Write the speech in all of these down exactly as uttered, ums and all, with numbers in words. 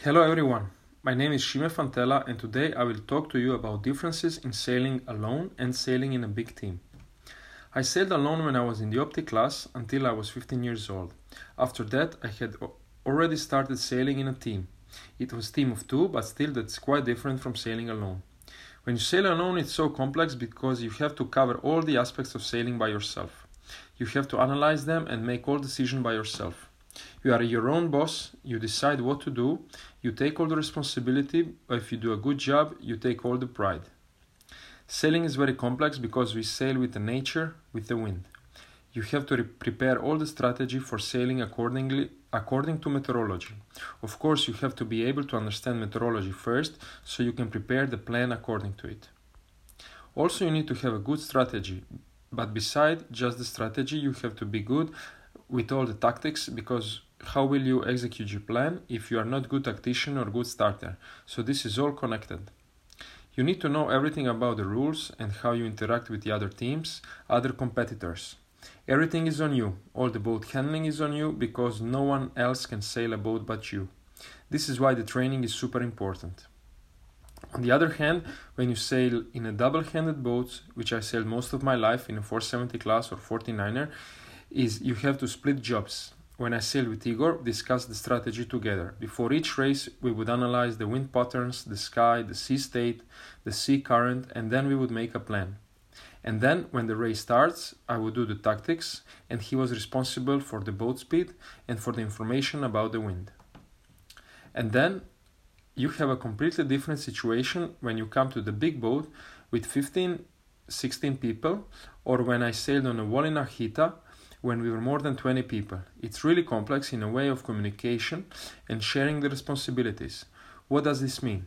Hello everyone, my name is Shime Fantella and today I will talk to you about differences in sailing alone and sailing in a big team. I sailed alone when I was in the optic class until I was fifteen years old. After that I had already started sailing in a team. It was a team of two, but still that's quite different from sailing alone. When you sail alone it's so complex because you have to cover all the aspects of sailing by yourself. You have to analyze them and make all decisions by yourself. You are your own boss, you decide what to do, you take all the responsibility, or if you do a good job, you take all the pride. Sailing is very complex because we sail with the nature, with the wind. You have to re- prepare all the strategy for sailing accordingly, according to meteorology. Of course, you have to be able to understand meteorology first, so you can prepare the plan according to it. Also, you need to have a good strategy, but beside just the strategy, you have to be good with all the tactics, because how will you execute your plan if you are not good tactician or good starter? So this is all connected. You need to know everything about the rules and how you interact with the other teams, other competitors. Everything is on you. All the boat handling is on you because no one else can sail a boat but you. This is why the training is super important. On the other hand, when you sail in a double-handed boat, which I sailed most of my life in a four seventy class or forty-niner, is you have to split jobs. When I sailed with Igor, discuss the strategy together. Before each race, we would analyze the wind patterns, the sky, the sea state, the sea current, and then we would make a plan. And then, when the race starts, I would do the tactics, and he was responsible for the boat speed and for the information about the wind. And then, you have a completely different situation when you come to the big boat with fifteen, sixteen people, or when I sailed on a wall in Archita, when we were more than twenty people. It's really complex in a way of communication and sharing the responsibilities. What does this mean?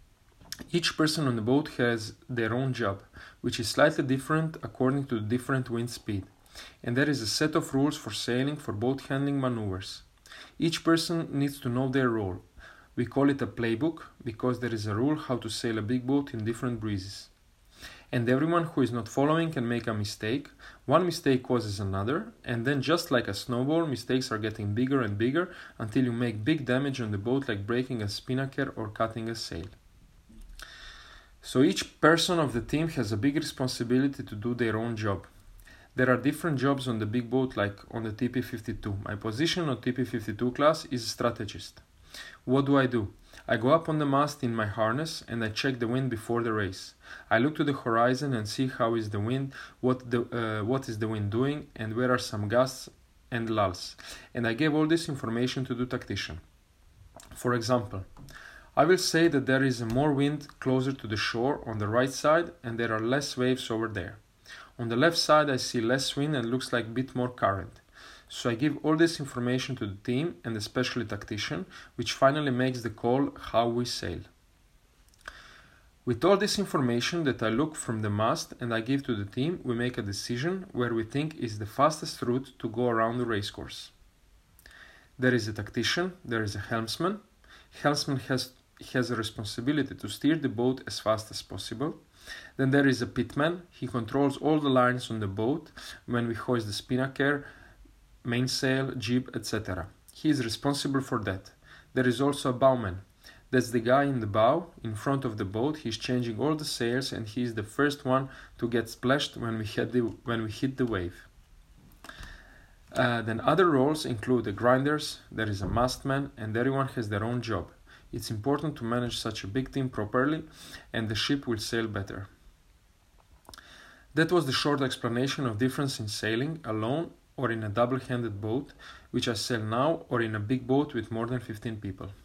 Each person on the boat has their own job, which is slightly different according to the different wind speed. And there is a set of rules for sailing for boat handling maneuvers. Each person needs to know their role. We call it a playbook because there is a rule how to sail a big boat in different breezes. And everyone who is not following can make a mistake. One mistake causes another, and then just like a snowball, mistakes are getting bigger and bigger until you make big damage on the boat, like breaking a spinnaker or cutting a sail. So each person of the team has a big responsibility to do their own job. There are different jobs on the big boat, like on the T P fifty-two. My position on T P fifty-two class is strategist. What do I do? I go up on the mast in my harness and I check the wind before the race. I look to the horizon and see how is the wind, what the uh, what is the wind doing, and where are some gusts and lulls. And I give all this information to the tactician. For example, I will say that there is more wind closer to the shore on the right side and there are less waves over there. On the left side I see less wind and looks like a bit more current. So I give all this information to the team and especially tactician, which finally makes the call how we sail. With all this information that I look from the mast and I give to the team, we make a decision where we think is the fastest route to go around the racecourse. There is a tactician, there is a helmsman. Helmsman has, has a responsibility to steer the boat as fast as possible. Then there is a pitman. He controls all the lines on the boat when we hoist the spinnaker, mainsail, jib, et cetera. He is responsible for that. There is also a bowman. That's the guy in the bow, in front of the boat. He's changing all the sails and he is the first one to get splashed when we hit the, when we hit the wave. Uh, then other roles include the grinders, there is a mastman, and everyone has their own job. It's important to manage such a big team properly and the ship will sail better. That was the short explanation of difference in sailing alone or in a double-handed boat, which I sail now, or in a big boat with more than fifteen people.